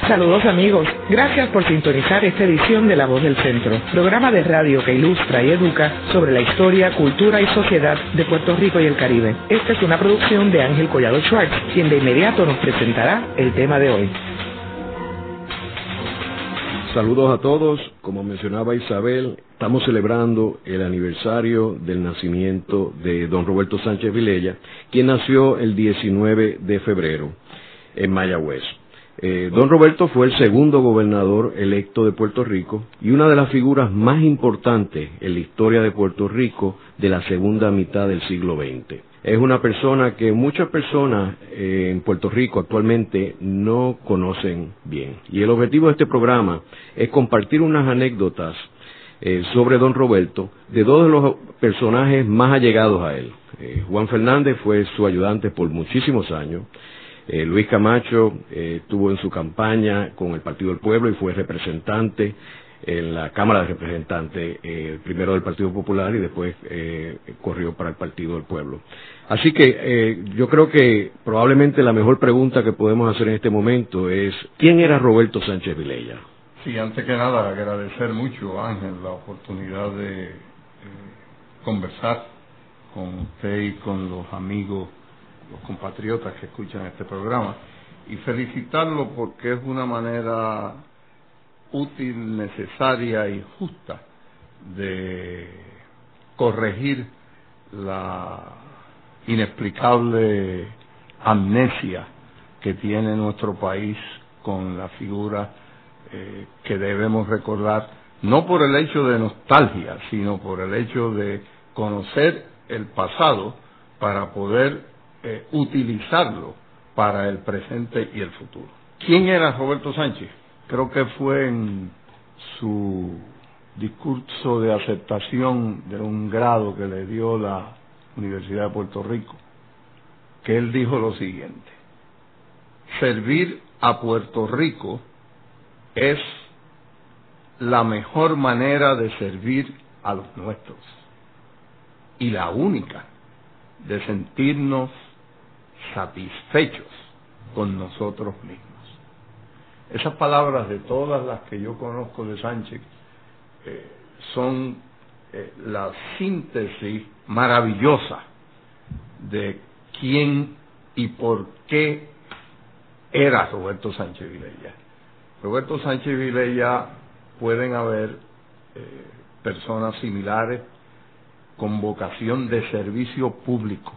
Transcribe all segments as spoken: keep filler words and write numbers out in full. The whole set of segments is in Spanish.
Saludos amigos, gracias por sintonizar esta edición de La Voz del Centro, programa de radio que ilustra y educa sobre la historia, cultura y sociedad de Puerto Rico y el Caribe. Esta es una producción de Ángel Collado Schwartz, quien de inmediato nos presentará el tema de hoy. Saludos a todos, como mencionaba Isabel, estamos celebrando el aniversario del nacimiento de don Roberto Sánchez Vilella, quien nació el diecinueve de febrero en Mayagüez. Eh, don Roberto fue el segundo gobernador electo de Puerto Rico y una de las figuras más importantes en la historia de Puerto Rico de la segunda mitad del siglo veinte. Es una persona que muchas personas eh, en Puerto Rico actualmente no conocen bien. Y el objetivo de este programa es compartir unas anécdotas eh, sobre don Roberto de dos de los personajes más allegados a él. Eh, Juan Fernández fue su ayudante por muchísimos años. Eh, Luis Camacho eh, estuvo en su campaña con el Partido del Pueblo y fue representante en la Cámara de Representantes, eh, primero del Partido Popular y después eh, corrió para el Partido del Pueblo. Así que eh, yo creo que probablemente la mejor pregunta que podemos hacer en este momento es ¿quién era Roberto Sánchez Vilella? Sí, antes que nada agradecer mucho, Ángel, la oportunidad de eh, conversar con usted y con los amigos, los compatriotas que escuchan este programa, y felicitarlo porque es una manera útil, necesaria y justa de corregir la inexplicable amnesia que tiene nuestro país con la figura eh, que debemos recordar, no por el hecho de nostalgia, sino por el hecho de conocer el pasado para poder Eh, utilizarlo para el presente y el futuro. ¿Quién era Roberto Sánchez? Creo que fue en su discurso de aceptación de un grado que le dio la Universidad de Puerto Rico, que él dijo lo siguiente: servir a Puerto Rico es la mejor manera de servir a los nuestros y la única de sentirnos satisfechos con nosotros mismos. Esas palabras, de todas las que yo conozco de Sánchez, eh, son eh, la síntesis maravillosa de quién y por qué era Roberto Sánchez Vilella. Roberto Sánchez Vilella, pueden haber eh, personas similares con vocación de servicio público,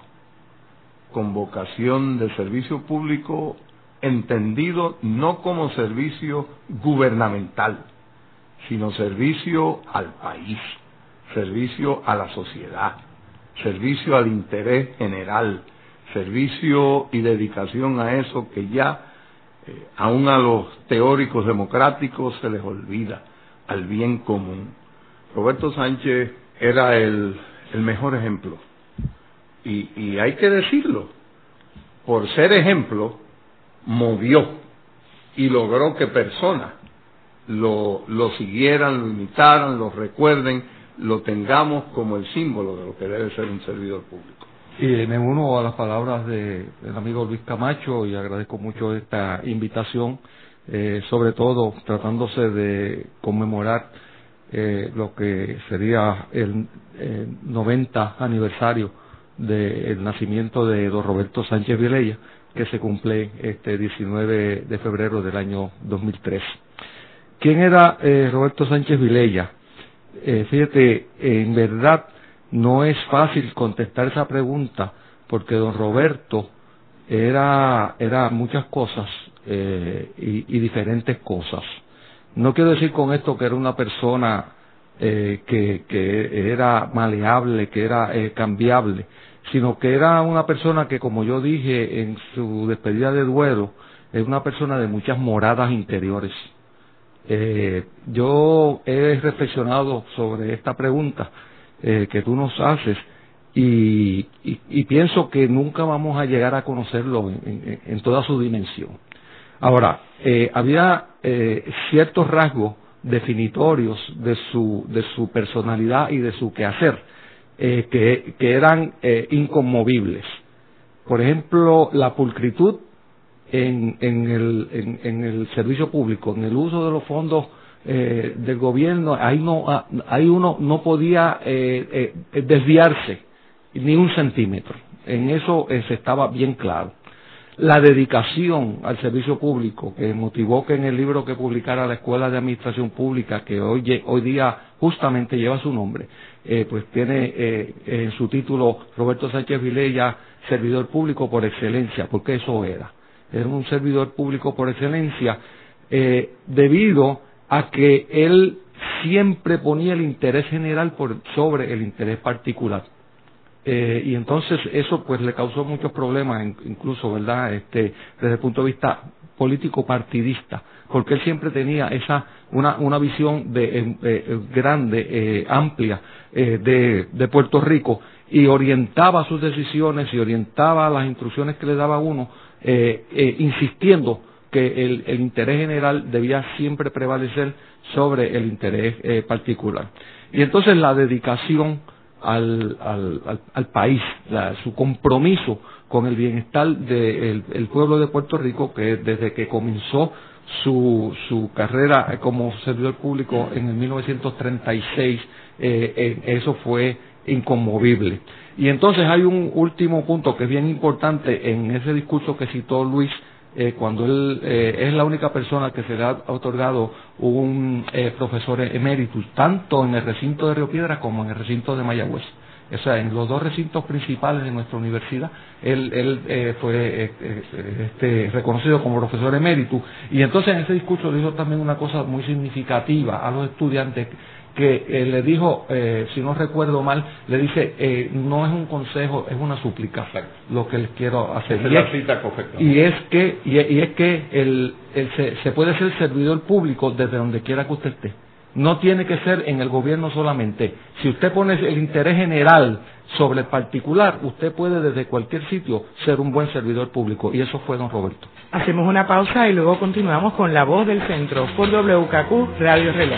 con vocación de servicio público entendido no como servicio gubernamental, sino servicio al país, servicio a la sociedad, servicio al interés general, servicio y dedicación a eso que ya eh, aún a los teóricos democráticos se les olvida, al bien común. Roberto Sánchez era el, el mejor ejemplo. Y, y hay que decirlo, por ser ejemplo, movió y logró que personas lo, lo siguieran, lo imitaran, lo recuerden, lo tengamos como el símbolo de lo que debe ser un servidor público. Y me uno a las palabras de, del amigo Luis Camacho y agradezco mucho esta invitación, eh, sobre todo tratándose de conmemorar eh, lo que sería el eh, noventa aniversario del nacimiento de don Roberto Sánchez Vilella, que se cumple este diecinueve de febrero del año dos mil tres. ¿Quién era eh, Roberto Sánchez Vilella? Eh, fíjate, en verdad no es fácil contestar esa pregunta, porque don Roberto era, era muchas cosas eh, y, y diferentes cosas. No quiero decir con esto que era una persona eh, que, que era maleable, que era eh, cambiable, sino que era una persona que, como yo dije en su despedida de duelo, es una persona de muchas moradas interiores. Eh, yo he reflexionado sobre esta pregunta eh, que tú nos haces y, y, y pienso que nunca vamos a llegar a conocerlo en, en, en toda su dimensión. Ahora, eh, había eh, ciertos rasgos definitorios de su, de su personalidad y de su quehacer eh, que, que eran eh, inconmovibles. Por ejemplo, la pulcritud en, en, el, en, en el servicio público, en el uso de los fondos eh, del gobierno, ahí no, ahí uno no podía eh, eh, desviarse ni un centímetro. En eso eh, se estaba bien claro. La dedicación al servicio público que motivó que en el libro que publicara la Escuela de Administración Pública, que hoy, hoy día justamente lleva su nombre, eh, pues tiene eh, en su título Roberto Sánchez Vilella, servidor público por excelencia, porque eso era. Era un servidor público por excelencia eh, debido a que él siempre ponía el interés general por sobre el interés particular. Eh, y entonces eso pues le causó muchos problemas, incluso, ¿verdad?, este, desde el punto de vista político partidista, porque él siempre tenía esa una, una visión de, eh, eh, grande, eh, amplia eh, de, de Puerto Rico, y orientaba sus decisiones y orientaba las instrucciones que le daba a uno, eh, eh, insistiendo que el, el interés general debía siempre prevalecer sobre el interés eh, particular. Y entonces la dedicación Al, al, al, al país, la, su compromiso con el bienestar del de pueblo de Puerto Rico, que desde que comenzó su, su carrera como servidor público en el mil novecientos treinta y seis, eh, eh, eso fue inconmovible. Y entonces hay un último punto que es bien importante en ese discurso que citó Luis, Eh, cuando él eh, es la única persona que se le ha otorgado un eh, profesor emeritus, tanto en el recinto de Río Piedras como en el recinto de Mayagüez. O sea, en los dos recintos principales de nuestra universidad, él, él eh, fue eh, eh, este, reconocido como profesor emeritus. Y entonces en ese discurso dijo también una cosa muy significativa a los estudiantes, que eh, le dijo, eh, si no recuerdo mal, le dice, eh, no es un consejo, es una súplica lo que les quiero hacer. Es y, la es, cita correcta. y es que, y, y es que el, el, se, se puede ser servidor público desde donde quiera que usted esté. No tiene que ser en el gobierno solamente. Si usted pone el interés general sobre el particular, usted puede desde cualquier sitio ser un buen servidor público. Y eso fue don Roberto. Hacemos una pausa y luego continuamos con La Voz del Centro por W K Q Radio Reloj.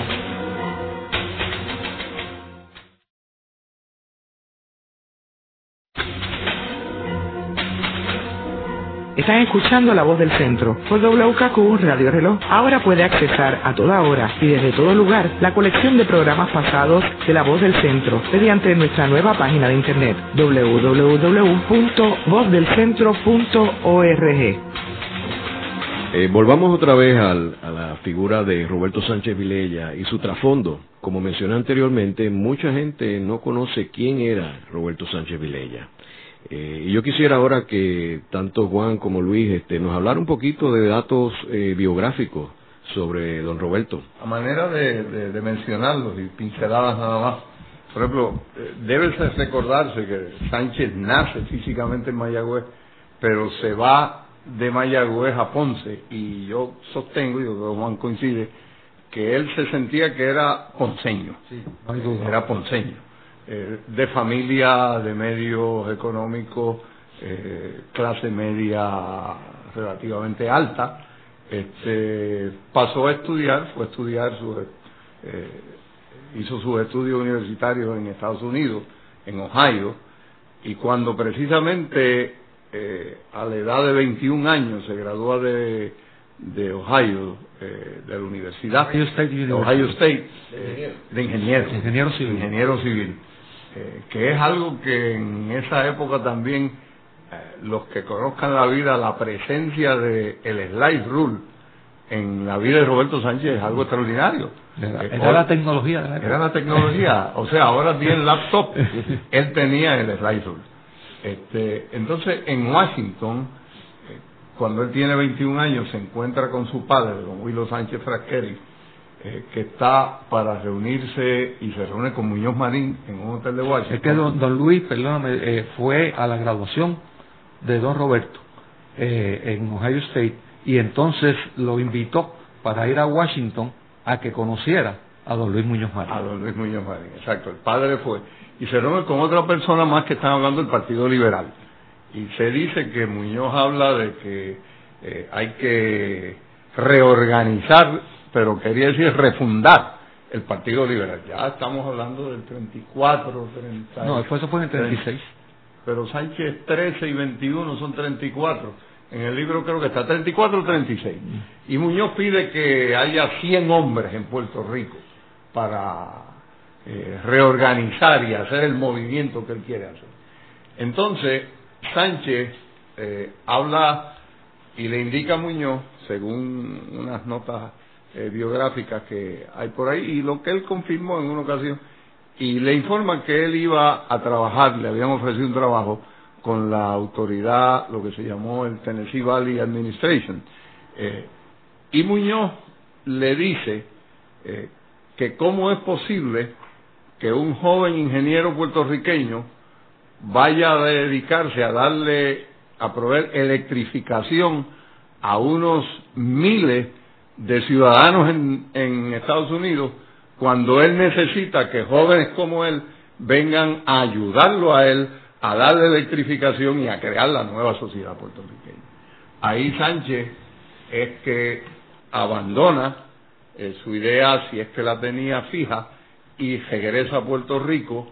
Están escuchando La Voz del Centro por W K Q Radio Reloj. Ahora puede accesar a toda hora y desde todo lugar la colección de programas pasados de La Voz del Centro mediante nuestra nueva página de internet doble u doble u doble u punto voz del centro punto org. Eh, volvamos otra vez al, a la figura de Roberto Sánchez Vilella y su trasfondo. Como mencioné anteriormente, mucha gente no conoce quién era Roberto Sánchez Vilella. Eh, y yo quisiera ahora que tanto Juan como Luis este, nos hablara un poquito de datos eh, biográficos sobre don Roberto. A manera de, de, de mencionarlos y pinceladas nada más. Por ejemplo, eh, debe recordarse que Sánchez nace físicamente en Mayagüez, pero se va de Mayagüez a Ponce, y yo sostengo, y Juan coincide, que él se sentía que era ponceño, sí, no hay duda. Era ponceño. Eh, de familia de medios económicos, eh, clase media relativamente alta, este, pasó a estudiar, fue a estudiar, su, eh, hizo sus estudios universitarios en Estados Unidos, en Ohio, y cuando precisamente eh, a la edad de veintiún años se gradúa de, de Ohio, eh, de la universidad, Ohio State, Ohio State eh, de ingeniero, ingeniero civil. Ingeniero civil. Eh, que es algo que en esa época también eh, los que conozcan la vida, la presencia de el slide rule en la vida de Roberto Sánchez es algo extraordinario. Era, eh, era la tecnología de la época. Era la tecnología, o sea, ahora tiene laptop, él tenía el slide rule. Este, entonces, en Washington, eh, cuando él tiene veintiún años, se encuentra con su padre, don Willo Sánchez Frasqueri, Eh, que está para reunirse, y se reúne con Muñoz Marín en un hotel de Washington. Es que don, don Luis, perdóname, eh, fue a la graduación de don Roberto eh, en Ohio State, y entonces lo invitó para ir a Washington a que conociera a don Luis Muñoz Marín. A don Luis Muñoz Marín, exacto. El padre fue. Y se reúne con otra persona más que están hablando del Partido Liberal. Y se dice que Muñoz habla de que eh, hay que reorganizar, pero quería decir refundar el Partido Liberal. Ya estamos hablando del treinta y cuatro, treinta. No, después eso fue en el treinta y seis. Pero Sánchez trece y veintiuno son treinta y cuatro. En el libro creo que está treinta y cuatro o treinta y seis. Y Muñoz pide que haya cien hombres en Puerto Rico para eh, reorganizar y hacer el movimiento que él quiere hacer. Entonces, Sánchez eh, habla y le indica a Muñoz, según unas notas eh, biográficas que hay por ahí, y lo que él confirmó en una ocasión, y le informa que él iba a trabajar, le habían ofrecido un trabajo con la autoridad, lo que se llamó el Tennessee Valley Administration. Eh, y Muñoz le dice eh, que cómo es posible que un joven ingeniero puertorriqueño vaya a dedicarse a darle, a proveer electrificación a unos miles de ciudadanos en, en Estados Unidos, cuando él necesita que jóvenes como él vengan a ayudarlo a él a darle electrificación y a crear la nueva sociedad puertorriqueña. Ahí Sánchez es que abandona eh, su idea, si es que la tenía fija, y regresa a Puerto Rico,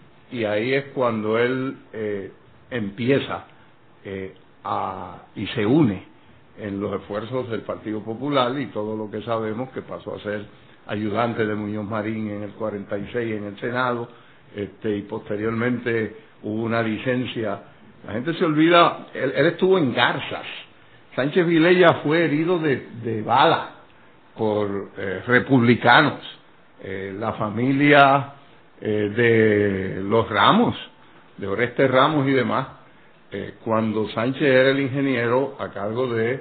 y ahí es cuando él eh, empieza eh, a, y se une en los esfuerzos del Partido Popular, y todo lo que sabemos que pasó a ser ayudante de Muñoz Marín en el cuarenta y seis en el Senado, este, y posteriormente hubo una licencia. La gente se olvida, él, él estuvo en Garzas. Sánchez Vilella fue herido de, de bala por eh, republicanos. Eh, la familia eh, de los Ramos, de Oreste Ramos y demás, eh, cuando Sánchez era el ingeniero a cargo de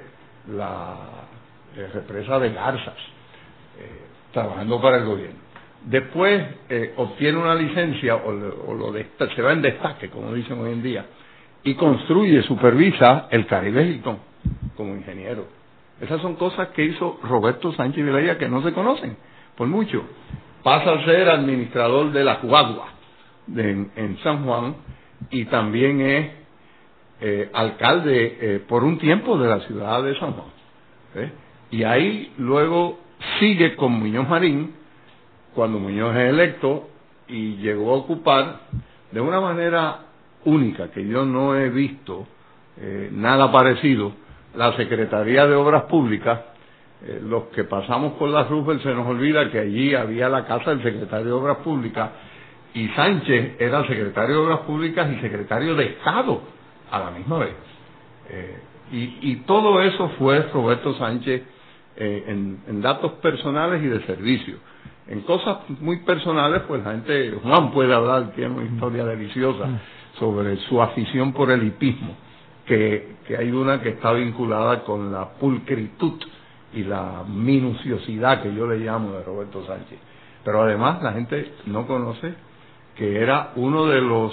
la eh, represa de Garzas, eh, trabajando para el gobierno. Después eh, obtiene una licencia o, lo, o lo de, se va en destaque, como dicen hoy en día, y construye, supervisa el Caribe Hilton como ingeniero. Esas son cosas que hizo Roberto Sánchez Vilella que no se conocen por mucho. Pasa a ser administrador de la Guagua de, en, en San Juan, y también es eh, alcalde eh, por un tiempo de la ciudad de San Juan. ¿eh? Y ahí luego sigue con Muñoz Marín, cuando Muñoz es electo, y llegó a ocupar de una manera única, que yo no he visto eh, nada parecido, la Secretaría de Obras Públicas. Eh, los que pasamos por la Roosevelt se nos olvida que allí había la casa del secretario de Obras Públicas, y Sánchez era secretario de Obras Públicas y secretario de Estado a la misma vez. Eh, y, y todo eso fue Roberto Sánchez eh, en, en datos personales y de servicio. En cosas muy personales, pues la gente, Juan puede hablar, tiene una historia deliciosa sobre su afición por el hipismo, que, que hay una que está vinculada con la pulcritud y la minuciosidad que yo le llamo de Roberto Sánchez. Pero además la gente no conoce que era uno de los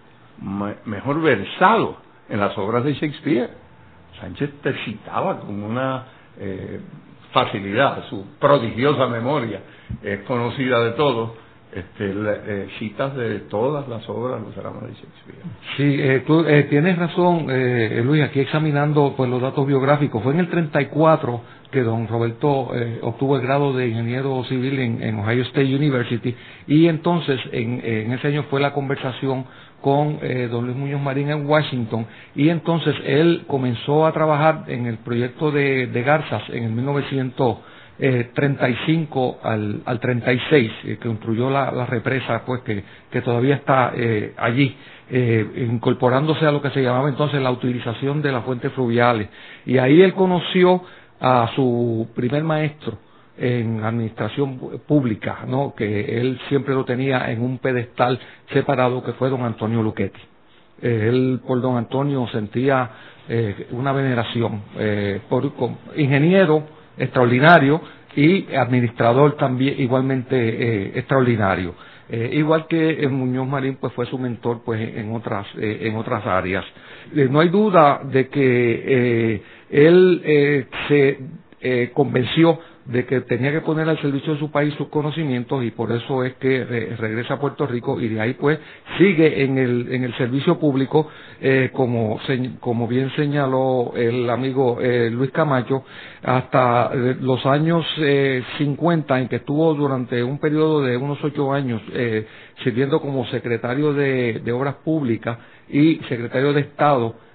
mejor versados en las obras de Shakespeare. Sánchez te citaba con una eh, facilidad, su prodigiosa memoria es conocida de todos, este, le, eh, citas de todas las obras, los dramas de Shakespeare. Sí, eh, tú eh, tienes razón, eh, Luis, aquí examinando pues los datos biográficos. Fue en el treinta y cuatro que don Roberto eh, obtuvo el grado de ingeniero civil en, en Ohio State University, y entonces en, en ese año fue la conversación con eh, don Luis Muñoz Marín en Washington, y entonces él comenzó a trabajar en el proyecto de, de Garzas en el mil novecientos treinta y cinco al, al treinta y seis, eh, que construyó la, la represa, pues que, que todavía está eh, allí, eh, incorporándose a lo que se llamaba entonces la utilización de las fuentes fluviales. Y ahí él conoció a su primer maestro en administración pública, ¿no? Que él siempre lo tenía en un pedestal separado, que fue don Antonio Luchetti. Eh, él por don Antonio sentía eh, una veneración, eh, por con, ingeniero extraordinario y administrador también igualmente eh, extraordinario. Eh, igual que eh, Muñoz Marín pues fue su mentor pues en otras eh, en otras áreas. Eh, no hay duda de que eh, él eh, se eh, convenció de que tenía que poner al servicio de su país sus conocimientos, y por eso es que re, regresa a Puerto Rico, y de ahí pues sigue en el en el servicio público, eh, como se, como bien señaló el amigo eh, Luis Camacho, hasta eh, los años eh, cincuenta, en que estuvo durante un periodo de unos ocho años eh, sirviendo como secretario de, de Obras Públicas y secretario de Estado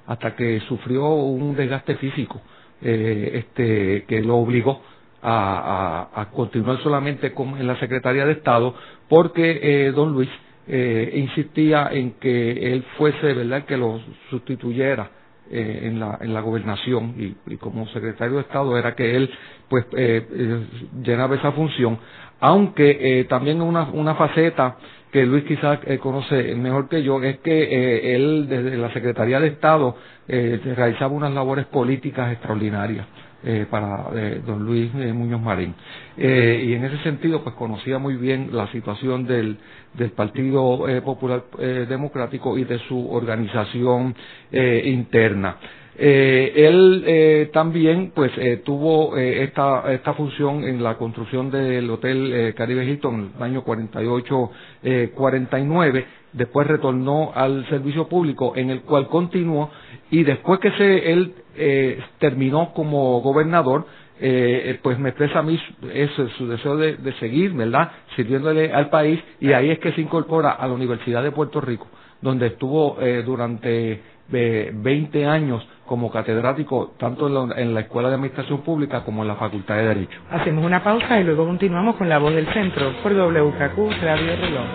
hasta que sufrió un desgaste físico eh, este que lo obligó a, a, a continuar solamente con, en la Secretaría de Estado, porque eh, don Luis eh, insistía en que él fuese, ¿verdad?, que lo sustituyera eh, en la en la gobernación, y, y como secretario de Estado era que él pues eh, eh, llenaba esa función, aunque eh, también una una faceta que Luis quizás eh, conoce mejor que yo es que eh, él desde la Secretaría de Estado eh, realizaba unas labores políticas extraordinarias eh, para eh, don Luis eh, Muñoz Marín, eh, y en ese sentido pues conocía muy bien la situación del del Partido eh, Popular eh, Democrático y de su organización eh, interna. Eh, él eh, también pues eh, tuvo eh, esta esta función en la construcción del Hotel eh, Caribe Hilton en el año cuarenta y ocho cuarenta y nueve, después retornó al servicio público, en el cual continuó, y después que se él eh, terminó como gobernador, eh, pues me expresa a mí eso, su deseo de, de seguir, ¿verdad?, sirviéndole al país, y ahí es que se incorpora a la Universidad de Puerto Rico, donde estuvo eh, durante eh, veinte años como catedrático, tanto en la, en la Escuela de Administración Pública como en la Facultad de Derecho. Hacemos una pausa y luego continuamos con La Voz del Centro por W K Q Radio Reloj.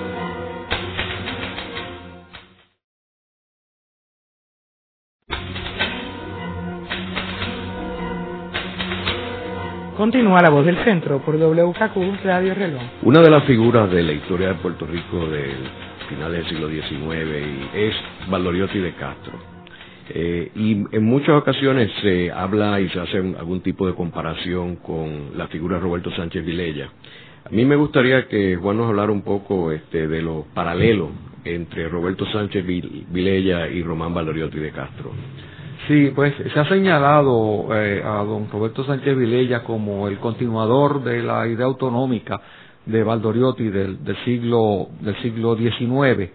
Continúa La Voz del Centro por W K Q Radio Reloj. Una de las figuras de la historia de Puerto Rico del final del siglo diecinueve es Valdoriotti de Castro. Eh, y en muchas ocasiones se habla y se hace algún tipo de comparación con la figura de Roberto Sánchez Vilella. A mí me gustaría que Juan nos hablara un poco este, de los paralelos entre Roberto Sánchez Vilella y Román Valdoriotti de Castro. Sí, pues se ha señalado eh, a don Roberto Sánchez Vilella como el continuador de la idea autonómica de Valdoriotti del, del siglo del siglo diecinueve.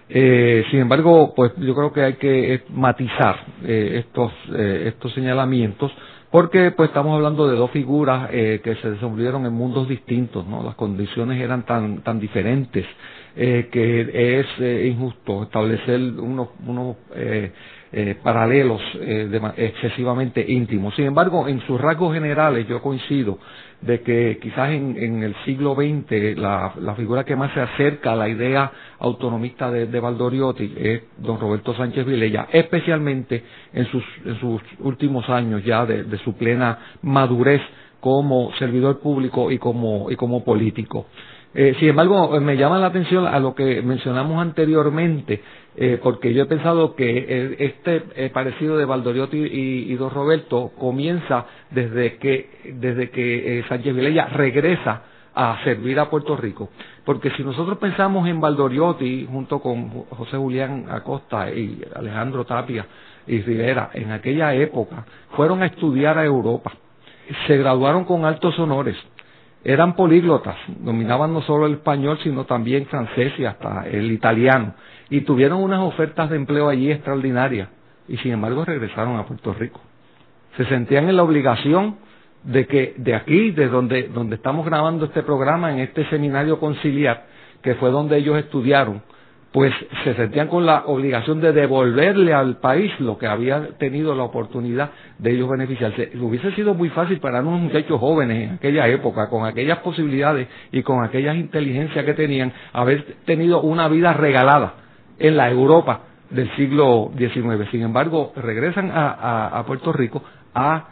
Eh, sin embargo, pues yo creo que hay que matizar eh, estos eh, estos señalamientos, porque pues estamos hablando de dos figuras eh, que se desenvolvieron en mundos distintos, ¿no? Las condiciones eran tan tan diferentes eh, que es eh, injusto establecer unos unos eh, eh, paralelos eh, de, excesivamente íntimos. Sin embargo, en sus rasgos generales yo coincido de que quizás en, en el siglo veinte la, la figura que más se acerca a la idea autonomista de, de Valdoriotti es don Roberto Sánchez Vilella, especialmente en sus, en sus últimos años ya de, de su plena madurez como servidor público y como, y como político. Eh, sin embargo, me llama la atención a lo que mencionamos anteriormente, eh, porque yo he pensado que eh, este eh, parecido de Valdoriotti y, y don Roberto comienza desde que desde que eh, Sánchez Vilella regresa a servir a Puerto Rico, porque si nosotros pensamos en Valdoriotti junto con José Julián Acosta y Alejandro Tapia y Rivera, en aquella época fueron a estudiar a Europa, se graduaron con altos honores, eran políglotas, dominaban no solo el español, sino también francés y hasta el italiano, y tuvieron unas ofertas de empleo allí extraordinarias, y sin embargo regresaron a Puerto Rico. Se sentían en la obligación de que de aquí, de donde, donde estamos grabando este programa, en este seminario conciliar, que fue donde ellos estudiaron, pues se sentían con la obligación de devolverle al país lo que había tenido la oportunidad de ellos beneficiarse. Hubiese sido muy fácil para unos muchachos jóvenes en aquella época, con aquellas posibilidades y con aquellas inteligencias que tenían, haber tenido una vida regalada en la Europa del siglo diecinueve. Sin embargo, regresan a, a, a Puerto Rico a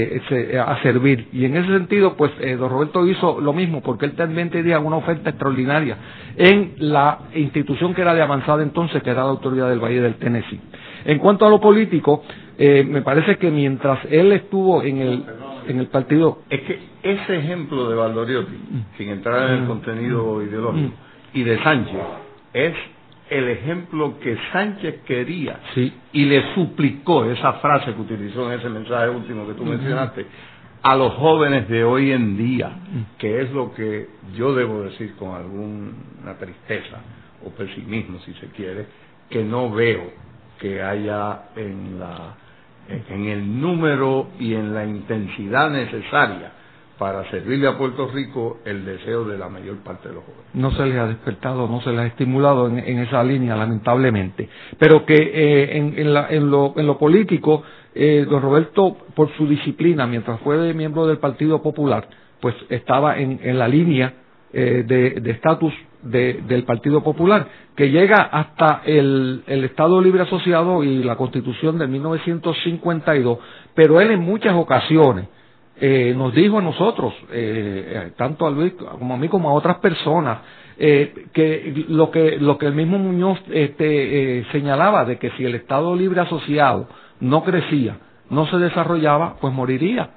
Eh, a servir, y en ese sentido pues eh, don Roberto hizo lo mismo, porque él también tenía una oferta extraordinaria en la institución que era de avanzada entonces, que era la Autoridad del Valle del Tennessee. En cuanto a lo político, eh, me parece que mientras él estuvo en el en el partido, es que ese ejemplo de Valdoriotti, sin entrar en el contenido ideológico, y de Sánchez, es el ejemplo que Sánchez quería, sí, y le suplicó esa frase que utilizó en ese mensaje último que tú uh-huh. mencionaste, a los jóvenes de hoy en día, uh-huh. que es lo que yo debo decir con alguna tristeza o pesimismo, si se quiere, que no veo que haya en la en el número y en la intensidad necesaria para servirle a Puerto Rico el deseo de la mayor parte de los jóvenes. No se les ha despertado, no se les ha estimulado en, en esa línea, lamentablemente. Pero que eh, en, en, la, en, lo, en lo político, eh, don Roberto, por su disciplina, mientras fue miembro del Partido Popular, pues estaba en, en la línea eh, de estatus de, del Partido Popular, que llega hasta el, el Estado Libre Asociado y la Constitución de mil novecientos cincuenta y dos, pero él en muchas ocasiones Eh, nos dijo a nosotros, eh, tanto a Luis como a mí como a otras personas, eh, que lo que lo que el mismo Muñoz este, eh, señalaba, de que si el Estado Libre Asociado no crecía, no se desarrollaba, pues moriría.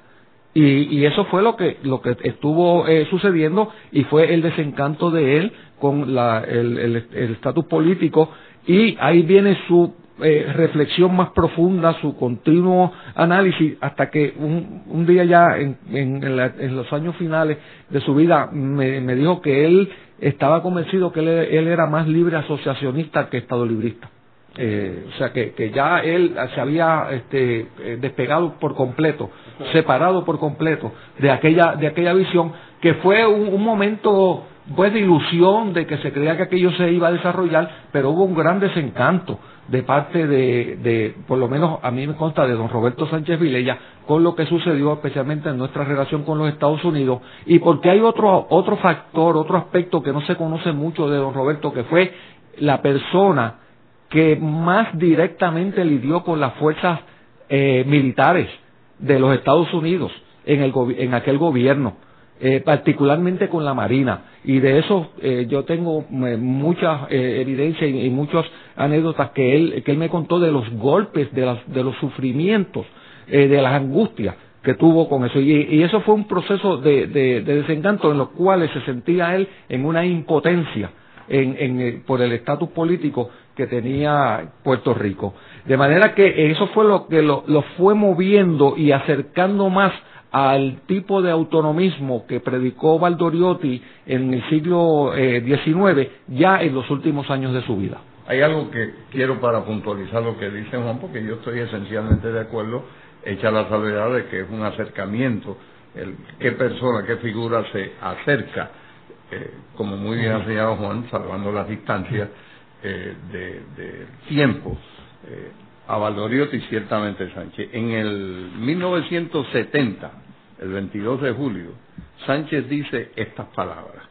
Y, y eso fue lo que lo que estuvo eh, sucediendo, y fue el desencanto de él con la, el estatus político, y ahí viene su Eh, reflexión más profunda, su continuo análisis, hasta que un, un día ya en, en, en, la, en los años finales de su vida me, me dijo que él estaba convencido que él, él era más libre asociacionista que estadolibrista. Eh, o sea que, que ya él se había este, despegado por completo, separado por completo de aquella de aquella visión, que fue un, un momento pues de ilusión, de que se creía que aquello se iba a desarrollar, pero hubo un gran desencanto de parte de, de, por lo menos a mí me consta, de don Roberto Sánchez Vilella, con lo que sucedió especialmente en nuestra relación con los Estados Unidos, y porque hay otro, otro factor, otro aspecto que no se conoce mucho de don Roberto, que fue la persona que más directamente lidió con las fuerzas eh, militares de los Estados Unidos en, el, en aquel gobierno. Eh, particularmente con la Marina, y de eso eh, yo tengo eh, muchas eh, evidencias y, y muchas anécdotas que él que él me contó de los golpes, de, las, de los sufrimientos, eh, de las angustias que tuvo con eso, y, y eso fue un proceso de, de, de desencanto en los cuales se sentía él en una impotencia en, en, por el estatus político que tenía Puerto Rico, de manera que eso fue lo que lo, lo fue moviendo y acercando más al tipo de autonomismo que predicó Valdoriotti en el siglo eh, diecinueve, ya en los últimos años de su vida. Hay algo que quiero para puntualizar lo que dice Juan, porque yo estoy esencialmente de acuerdo, hecha la salvedad de que es un acercamiento, el, qué persona, qué figura se acerca, eh, como muy bien ha señalado Juan, salvando las distancias eh, de, de tiempo, eh, a Valdoriotti, ciertamente Sánchez. En el mil novecientos setenta, el veintidós de julio, Sánchez dice estas palabras: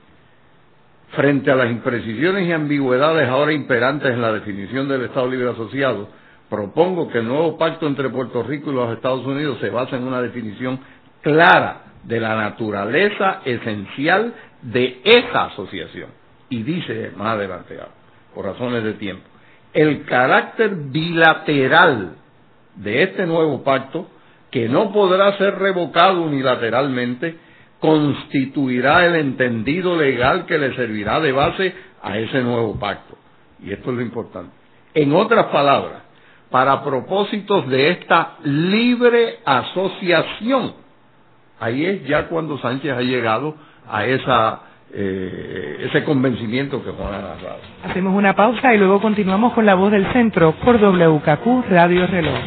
frente a las imprecisiones y ambigüedades ahora imperantes en la definición del Estado Libre Asociado, propongo que el nuevo pacto entre Puerto Rico y los Estados Unidos se base en una definición clara de la naturaleza esencial de esa asociación. Y dice más adelante, por razones de tiempo, el carácter bilateral de este nuevo pacto, que no podrá ser revocado unilateralmente, constituirá el entendido legal que le servirá de base a ese nuevo pacto. Y esto es lo importante. En otras palabras, para propósitos de esta libre asociación, ahí es ya cuando Sánchez ha llegado a esa Eh, ese convencimiento que Juan ha narrado. Hacemos una pausa y luego continuamos con La Voz del Centro por W K Q Radio Reloj.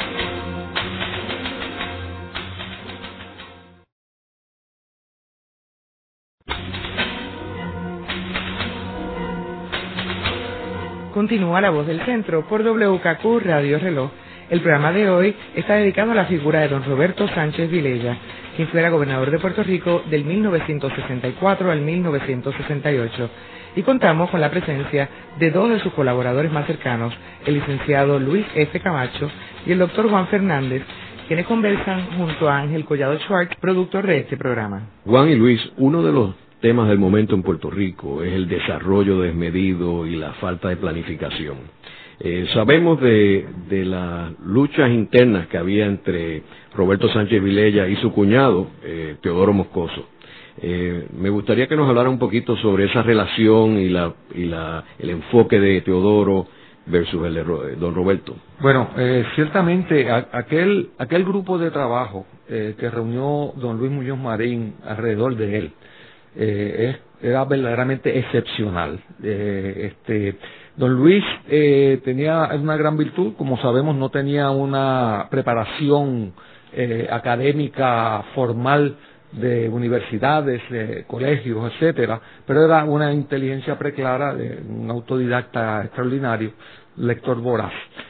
Continúa La Voz del Centro por W K Q Radio Reloj. El programa de hoy está dedicado a la figura de don Roberto Sánchez Vilella, quien fuera gobernador de Puerto Rico del mil novecientos sesenta y cuatro al mil novecientos sesenta y ocho. Y contamos con la presencia de dos de sus colaboradores más cercanos, el licenciado Luis F. Camacho y el doctor Juan Fernández, quienes conversan junto a Ángel Collado Schwartz, productor de este programa. Juan y Luis, uno de los temas del momento en Puerto Rico es el desarrollo desmedido y la falta de planificación. Eh, sabemos de, de las luchas internas que había entre Roberto Sánchez Vilella y su cuñado, eh, Teodoro Moscoso. Eh, me gustaría que nos hablara un poquito sobre esa relación y, la, y la, el enfoque de Teodoro versus el de don Roberto. Bueno, eh, ciertamente a, aquel, aquel grupo de trabajo eh, que reunió don Luis Muñoz Marín alrededor de él eh, es, era verdaderamente excepcional. Eh, este Don Luis eh, tenía una gran virtud, como sabemos, no tenía una preparación eh, académica formal de universidades, de colegios, etcétera, pero era una inteligencia preclara de un autodidacta extraordinario, lector voraz.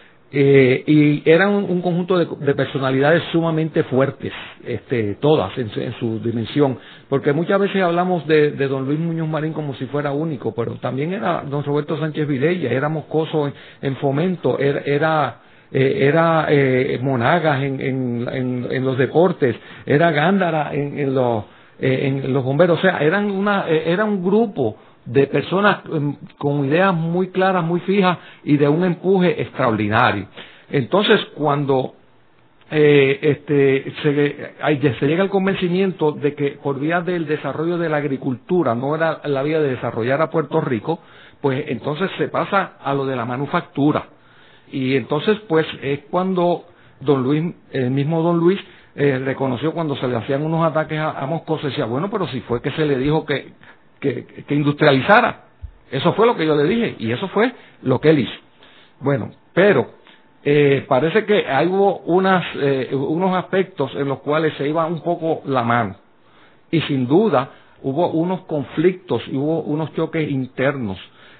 Eh, y eran un, un conjunto de, de personalidades sumamente fuertes, este, todas en su, en su dimensión, porque muchas veces hablamos de, de don Luis Muñoz Marín como si fuera único, pero también era don Roberto Sánchez Vilella, era Moscoso en, en Fomento, era, era Eh, era eh, Monagas en, en, en, en los deportes, era Gándara en, en, los, eh, en los bomberos, o sea, eran una, eh, era un grupo de personas eh, con ideas muy claras, muy fijas y de un empuje extraordinario. Entonces, cuando eh, este, se, se llega al convencimiento de que por vía del desarrollo de la agricultura no era la vía de desarrollar a Puerto Rico, pues entonces se pasa a lo de la manufactura. Y entonces, pues, es cuando don Luis, el mismo don Luis, eh, reconoció cuando se le hacían unos ataques a, a Moscoso, decía, bueno, pero si fue que se le dijo que, que, que industrializara. Eso fue lo que yo le dije, y eso fue lo que él hizo. Bueno, pero eh, parece que hay hubo unas, eh, unos aspectos en los cuales se iba un poco la mano. Y sin duda, hubo unos conflictos, y hubo unos choques internos,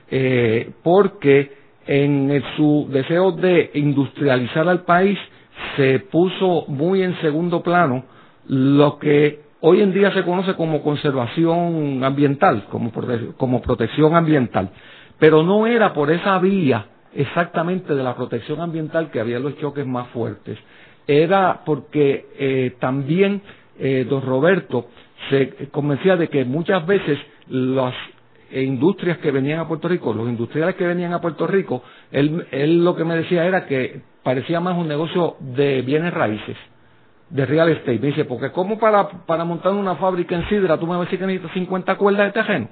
eh, porque en el, su deseo de industrializar al país se puso muy en segundo plano lo que hoy en día se conoce como conservación ambiental, como, prote como protección ambiental, pero no era por esa vía exactamente de la protección ambiental que había los choques más fuertes, era porque eh, también eh, don Roberto se convencía de que muchas veces las e industrias que venían a Puerto Rico, los industriales que venían a Puerto Rico, él, él lo que me decía era que parecía más un negocio de bienes raíces, de real estate. Me dice, porque como para, para montar una fábrica en Sidra, tú me vas a decir que necesitas cincuenta cuerdas de terreno.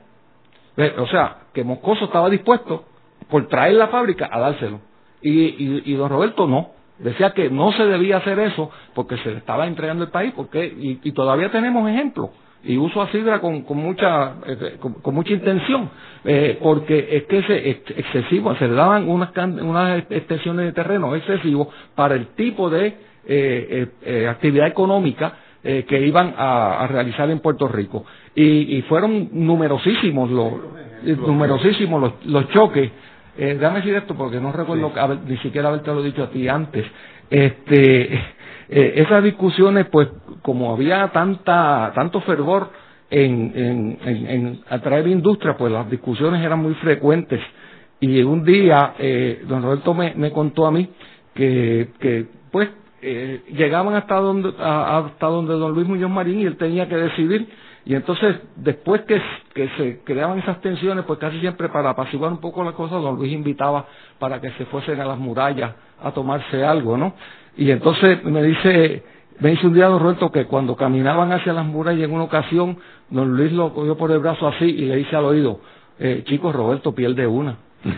O sea, que Moscoso estaba dispuesto por traer la fábrica a dárselo. Y, y, y don Roberto no. Decía que no se debía hacer eso porque se le estaba entregando el país, porque y, y todavía tenemos ejemplos. Y uso a Sidra con, con mucha eh, con, con mucha intención, eh, porque es que es excesivo, se le daban unas, unas extensiones de terreno excesivos para el tipo de eh, eh, eh, actividad económica eh, que iban a, a realizar en Puerto Rico. Y, y fueron numerosísimos los, numerosísimos los, los choques. Eh, déjame decir esto porque no recuerdo sí. haber, ni siquiera haberte lo dicho a ti antes. Este... Eh, esas discusiones, pues, como había tanta tanto fervor en, en, en, en atraer industria, pues las discusiones eran muy frecuentes. Y un día, eh, don Roberto me, me contó a mí que, que pues, eh, llegaban hasta donde, a, hasta donde don Luis Muñoz Marín y él tenía que decidir. Y entonces, después que, que se creaban esas tensiones, pues casi siempre para apaciguar un poco las cosas, don Luis invitaba para que se fuesen a las murallas a tomarse algo, ¿no? Y entonces me dice, me dice un día don Roberto que cuando caminaban hacia las murallas en una ocasión, don Luis lo cogió por el brazo así y le dice al oído, eh, chicos, Roberto pierde una.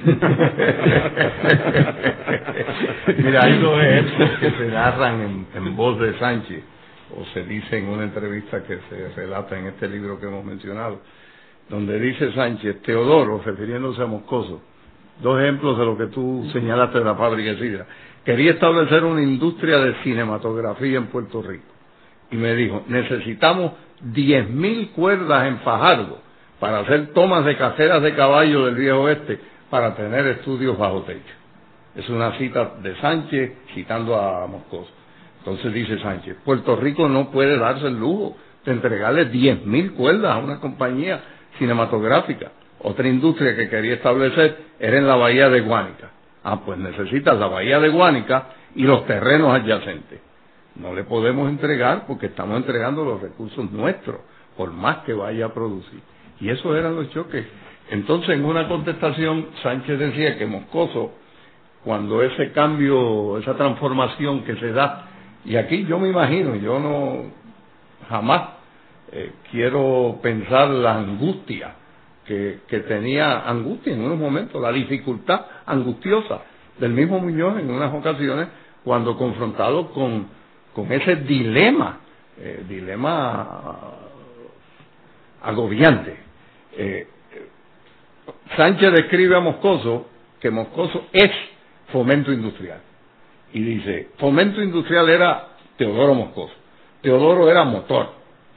Mira, hay dos ejemplos que se narran en, en voz de Sánchez, o se dice en una entrevista que se relata en este libro que hemos mencionado, donde dice Sánchez, Teodoro, refiriéndose a Moscoso, dos ejemplos de lo que tú señalaste de la fábrica de Sidra, quería establecer una industria de cinematografía en Puerto Rico, y me dijo, necesitamos diez mil cuerdas en Fajardo para hacer tomas de caseras de caballo del viejo oeste, para tener estudios bajo techo. Es una cita de Sánchez citando a Moscoso. Entonces dice Sánchez, Puerto Rico no puede darse el lujo de entregarle diez mil cuerdas a una compañía cinematográfica. Otra industria que quería establecer era en la bahía de Guánica. Ah, pues necesitas la bahía de Guánica y los terrenos adyacentes. No le podemos entregar porque estamos entregando los recursos nuestros, por más que vaya a producir. Y esos eran los choques. Entonces, en una contestación, Sánchez decía que Moscoso, cuando ese cambio, esa transformación que se da, y aquí yo me imagino, yo no jamás eh, quiero pensar la angustia que, que tenía, angustia en unos momentos, la dificultad angustiosa del mismo Muñoz en unas ocasiones, cuando confrontado con, con ese dilema, eh, dilema agobiante. Eh, Sánchez describe a Moscoso que Moscoso es fomento industrial. Y dice, fomento industrial era Teodoro Moscoso. Teodoro era motor.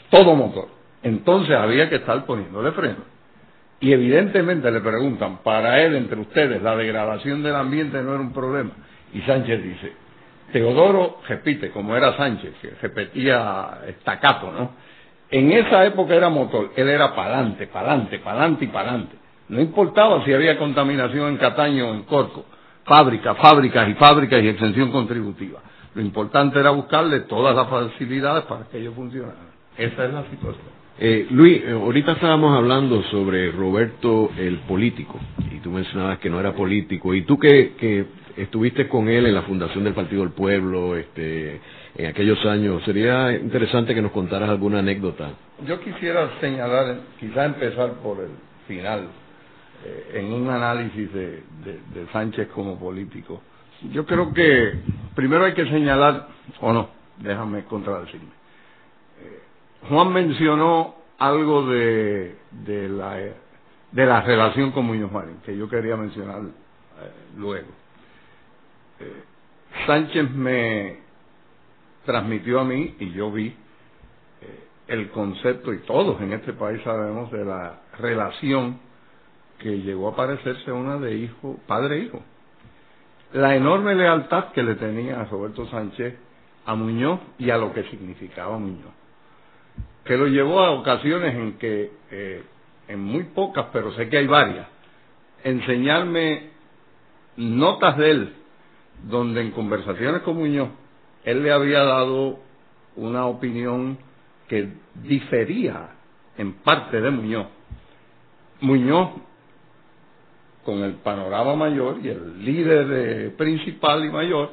todo motor. Entonces había que estar poniéndole freno. Y evidentemente le preguntan, para él, entre ustedes, la degradación del ambiente no era un problema. Y Sánchez dice, Teodoro repite, como era Sánchez, que repetía estacato, ¿no? En esa época era motor, él era pa'lante, pa'lante, pa'lante y pa'lante. No importaba si había contaminación en Cataño o en Corco, fábricas, fábricas y fábricas y exención contributiva. Lo importante era buscarle todas las facilidades para que ellos funcionaran. Esa es la situación. Eh, Luis, eh, ahorita estábamos hablando sobre Roberto el político, y tú mencionabas que no era político, y tú que, que estuviste con él en la fundación del Partido del Pueblo, este, en aquellos años, sería interesante que nos contaras alguna anécdota. Yo quisiera señalar, quizá empezar por el final, eh, en un análisis de, de, de Sánchez como político. Yo creo que primero hay que señalar, o no, déjame contradecirme. Eh, Juan mencionó algo de, de, la, de la relación con Muñoz Marín, que yo quería mencionar eh, luego. Eh, Sánchez me transmitió a mí, y yo vi, eh, el concepto, y todos en este país sabemos, de la relación que llegó a parecerse una de hijo, padre-hijo. La enorme lealtad que le tenía a Roberto Sánchez a Muñoz y a lo que significaba Muñoz, que lo llevó a ocasiones en que, eh, en muy pocas, pero sé que hay varias, enseñarme notas de él, donde en conversaciones con Muñoz, él le había dado una opinión que difería en parte de Muñoz. Muñoz, con el panorama mayor y el líder eh, principal y mayor,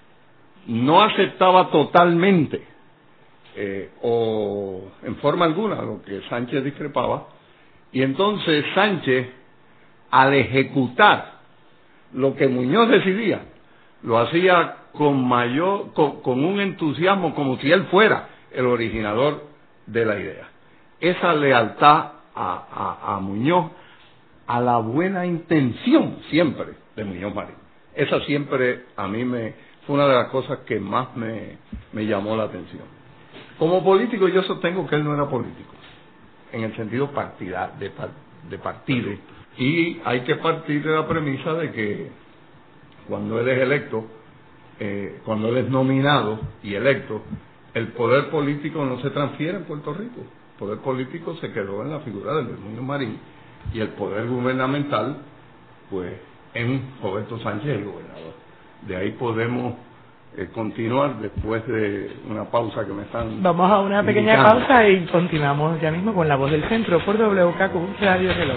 no aceptaba totalmente eh, o en forma alguna lo que Sánchez discrepaba, y entonces Sánchez, al ejecutar lo que Muñoz decidía, lo hacía con mayor, con, con un entusiasmo, como si él fuera el originador de la idea. Esa lealtad a, a, a Muñoz, a la buena intención siempre de Muñoz Marín. Esa siempre a mí me fue una de las cosas que más me, me llamó la atención. Como político yo sostengo que él no era político, en el sentido partida, de, de partido. Y hay que partir de la premisa de que cuando él es electo, eh, cuando él es nominado y electo, el poder político no se transfiere en Puerto Rico. El poder político se quedó en la figura de Muñoz Marín, y el poder gubernamental, pues, en Roberto Sánchez, el gobernador. De ahí podemos eh, continuar después de una pausa que me están Vamos a una pequeña indicando. pausa y continuamos ya mismo con La Voz del Centro por W K Q Radio Reloj.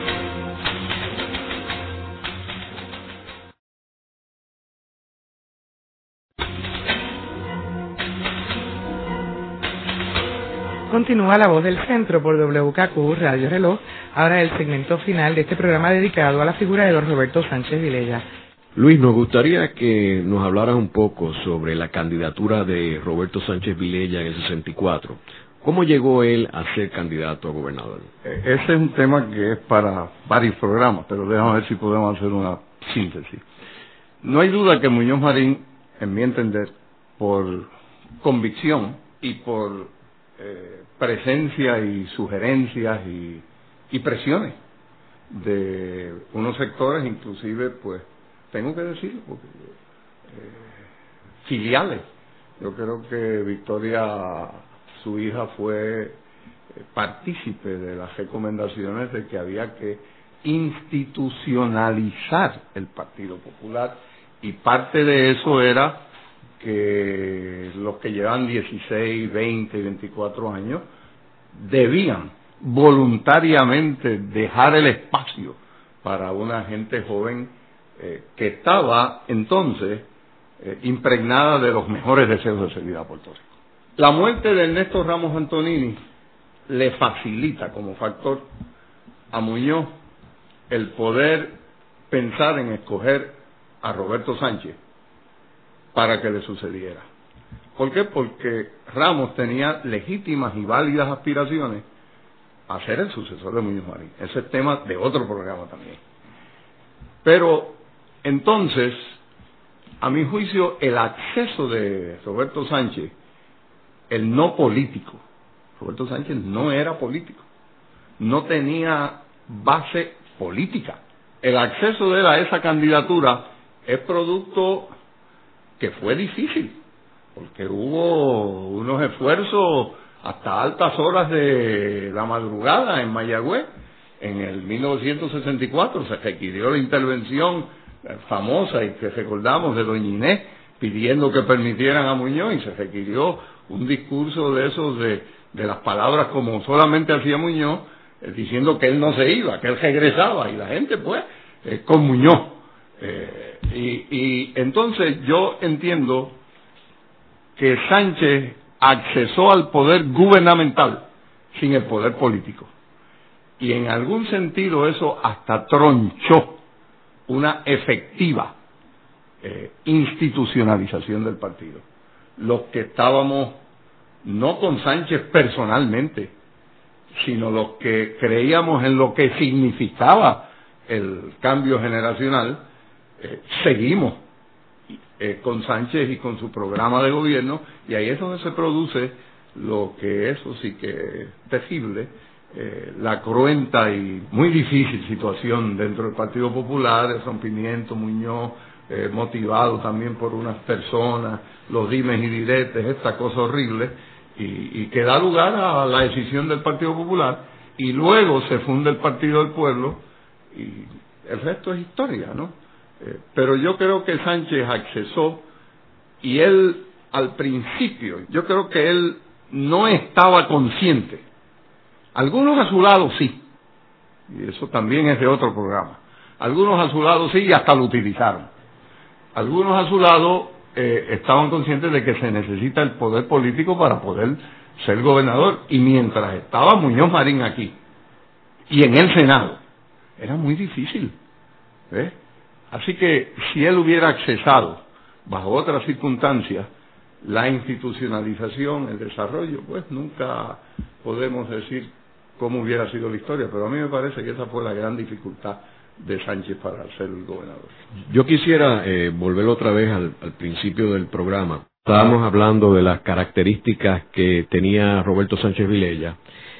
Continúa La Voz del Centro por W K Q Radio Reloj, ahora el segmento final de este programa dedicado a la figura de don Roberto Sánchez Vilella. Luis, nos gustaría que nos hablaras un poco sobre la candidatura de Roberto Sánchez Vilella en el sesenta y cuatro. ¿Cómo llegó él a ser candidato a gobernador? Ese es un tema que es para varios programas, pero déjame ver si podemos hacer una síntesis. No hay duda que Muñoz Marín, en mi entender, por convicción y por eh, presencia y sugerencias y, y presiones de unos sectores, inclusive, pues, tengo que decirlo, porque, eh, filiales. Yo creo que Victoria, su hija, fue partícipe de las recomendaciones de que había que institucionalizar el Partido Popular, y parte de eso era que los que llevan dieciséis, veinte y veinticuatro años debían voluntariamente dejar el espacio para una gente joven eh, que estaba entonces eh, impregnada de los mejores deseos de servir a Puerto Rico. La muerte de Ernesto Ramos Antonini le facilita como factor a Muñoz el poder pensar en escoger a Roberto Sánchez para que le sucediera. ¿Por qué? Porque Ramos tenía legítimas y válidas aspiraciones a ser el sucesor de Muñoz Marín. Ese es tema de otro programa también. Pero entonces, a mi juicio, el acceso de Roberto Sánchez, el no político, Roberto Sánchez no era político, no tenía base política. El acceso de él a esa candidatura es producto que fue difícil, porque hubo unos esfuerzos hasta altas horas de la madrugada en Mayagüez. En el mil novecientos sesenta y cuatro se requirió la intervención famosa y que recordamos de doña Inés pidiendo que permitieran a Muñoz, y se requirió un discurso de esos de, de las palabras como solamente hacía Muñoz, eh, diciendo que él no se iba, que él regresaba, y la gente pues eh, con Muñoz. Eh, y, y entonces yo entiendo que Sánchez accesó al poder gubernamental sin el poder político. Y en algún sentido eso hasta tronchó una efectiva eh, institucionalización del partido. Los que estábamos no con Sánchez personalmente, sino los que creíamos en lo que significaba el cambio generacional, eh, seguimos eh, con Sánchez y con su programa de gobierno, y ahí es donde se produce lo que eso sí que es terrible, eh, la cruenta y muy difícil situación dentro del Partido Popular, el rompimiento, Muñoz, eh, motivado también por unas personas, los dimes y diretes, esta cosa horrible, y, y que da lugar a la decisión del Partido Popular, y luego se funda el Partido del Pueblo, y el resto es historia, ¿no? Eh, pero yo creo que Sánchez accesó, y él al principio, yo creo que él no estaba consciente. Algunos a su lado sí, y eso también es de otro programa. Algunos a su lado sí y hasta lo utilizaron. Algunos a su lado eh, estaban conscientes de que se necesita el poder político para poder ser gobernador, y mientras estaba Muñoz Marín aquí y en el Senado, era muy difícil, ¿eh? Así que si él hubiera accesado bajo otras circunstancias, la institucionalización, el desarrollo, pues nunca podemos decir cómo hubiera sido la historia, pero a mí me parece que esa fue la gran dificultad de Sánchez para ser el gobernador. Yo quisiera eh, volver otra vez al, al principio del programa. Estábamos hablando de las características que tenía Roberto Sánchez Vilella,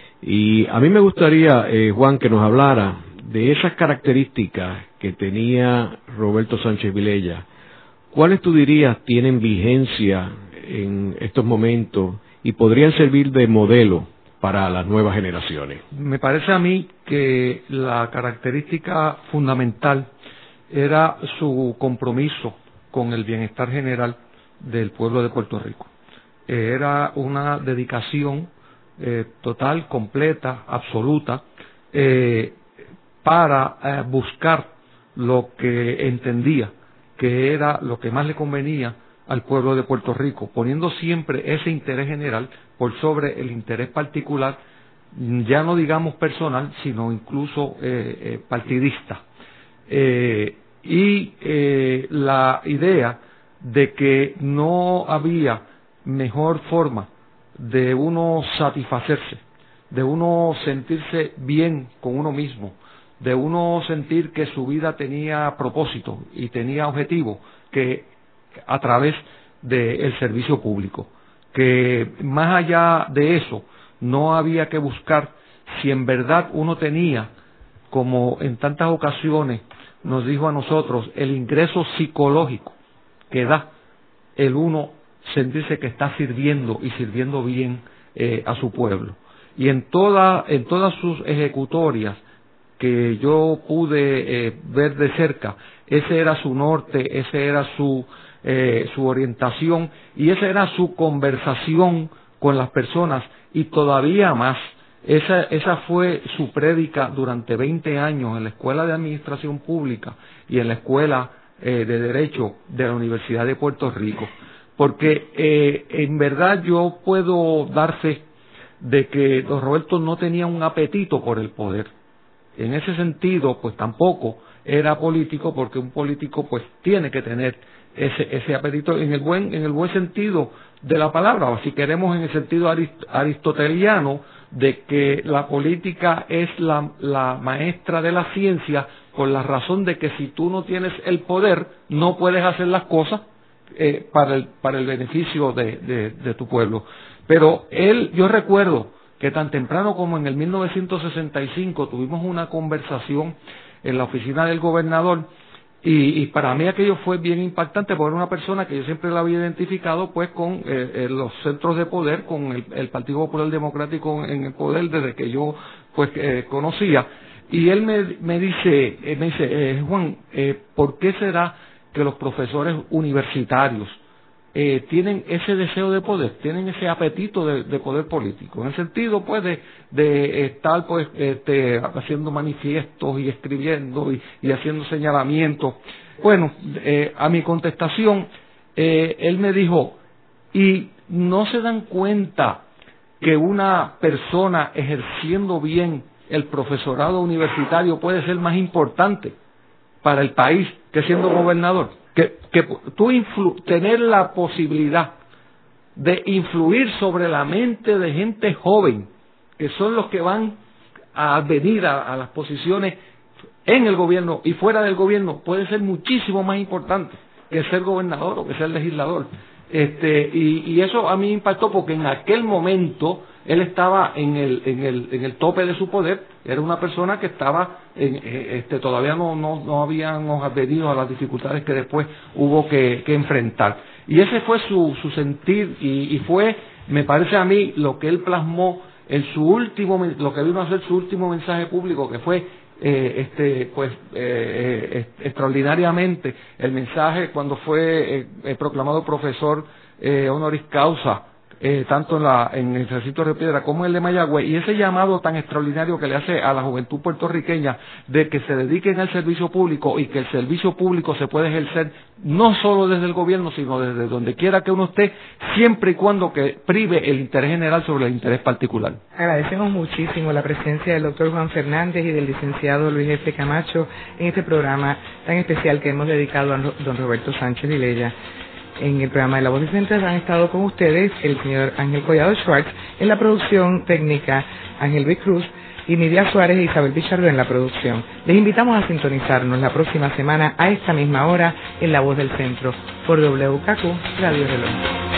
y a mí me gustaría, eh, Juan, que nos hablara de esas características que tenía Roberto Sánchez Vilella. ¿Cuáles tú dirías tienen vigencia en estos momentos y podrían servir de modelo para las nuevas generaciones? Me parece a mí que la característica fundamental era su compromiso con el bienestar general del pueblo de Puerto Rico. Era una dedicación eh, total, completa, absoluta, eh, para eh, buscar lo que entendía que era lo que más le convenía al pueblo de Puerto Rico, poniendo siempre ese interés general por sobre el interés particular, ya no digamos personal, sino incluso eh, eh, partidista. Eh, y eh, la idea de que no había mejor forma de uno satisfacerse, de uno sentirse bien con uno mismo, de uno sentir que su vida tenía propósito y tenía objetivo, que a través del servicio público, que más allá de eso no había que buscar si en verdad uno tenía, como en tantas ocasiones nos dijo a nosotros, el ingreso psicológico que da el uno sentirse que está sirviendo y sirviendo bien eh, a su pueblo. Y en toda, en todas sus ejecutorias que yo pude eh, ver de cerca, ese era su norte, ese era su eh, su orientación, y esa era su conversación con las personas, y todavía más, esa, esa fue su prédica durante veinte años en la Escuela de Administración Pública y en la Escuela eh, de Derecho de la Universidad de Puerto Rico, porque eh, en verdad yo puedo dar fe de que don Roberto no tenía un apetito por el poder. En ese sentido, pues tampoco era político, porque un político pues tiene que tener ese ese apetito en el buen en el buen sentido de la palabra, o si queremos en el sentido arist aristoteliano de que la política es la, la maestra de la ciencia, por la razón de que si tú no tienes el poder no puedes hacer las cosas eh, para el para el beneficio de, de, de tu pueblo. Pero él, yo recuerdo que tan temprano como en el mil novecientos sesenta y cinco tuvimos una conversación en la oficina del gobernador, y, y para mí aquello fue bien impactante, porque era una persona que yo siempre la había identificado pues con eh, eh, los centros de poder, con el, el Partido Popular Democrático en el poder desde que yo pues eh, conocía, y él me, me dice, eh, me dice eh, Juan, eh, ¿por qué será que los profesores universitarios Eh, tienen ese deseo de poder, tienen ese apetito de, de poder político, en el sentido pues de, de estar pues este, haciendo manifiestos y escribiendo y, y haciendo señalamientos? Bueno, eh, a mi contestación, eh, él me dijo, ¿y no se dan cuenta que una persona ejerciendo bien el profesorado universitario puede ser más importante para el país que siendo gobernador? Que, que tú influ, tener la posibilidad de influir sobre la mente de gente joven, que son los que van a venir a, a las posiciones en el gobierno y fuera del gobierno, puede ser muchísimo más importante que ser gobernador o que ser legislador. Este, y, y eso a mí me impactó, porque en aquel momento él estaba en el, en el, en el tope de su poder, era una persona que estaba, en, este, todavía no, no, no habíamos advenido a las dificultades que después hubo que, que enfrentar. Y ese fue su, su sentir, y, y fue, me parece a mí, lo que él plasmó en su último, lo que vino a ser su último mensaje público, que fue Eh, este pues eh, eh, extraordinariamente el mensaje cuando fue eh, eh, proclamado profesor eh, honoris causa, eh, tanto en, la, en el recinto de Río Piedra como en el de Mayagüez, y ese llamado tan extraordinario que le hace a la juventud puertorriqueña de que se dediquen al servicio público, y que el servicio público se puede ejercer no solo desde el gobierno, sino desde donde quiera que uno esté, siempre y cuando que prive el interés general sobre el interés particular. Agradecemos muchísimo la presencia del doctor Juan Fernández y del licenciado Luis F. Camacho en este programa tan especial que hemos dedicado a don Roberto Sánchez Vilella. En el programa de La Voz del Centro han estado con ustedes el señor Ángel Collado Schwartz, en la producción técnica Ángel Luis Cruz, y Nidia Suárez e Isabel Pichardo en la producción. Les invitamos a sintonizarnos la próxima semana a esta misma hora en La Voz del Centro por W K Q Radio Reloj.